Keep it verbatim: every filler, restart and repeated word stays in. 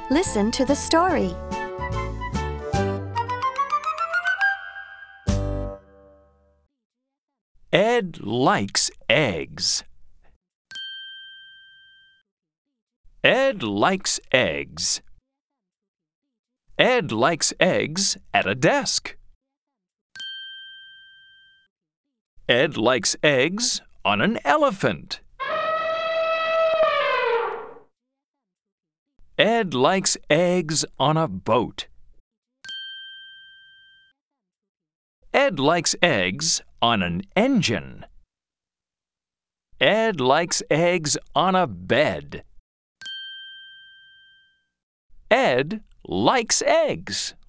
Listen to the story. Ed likes eggs. Ed likes eggs. Ed likes eggs at a desk. Ed likes eggs on an elephant. Ed likes eggs on a boat. Ed likes eggs on an engine. Ed likes eggs on a bed. Ed likes eggs.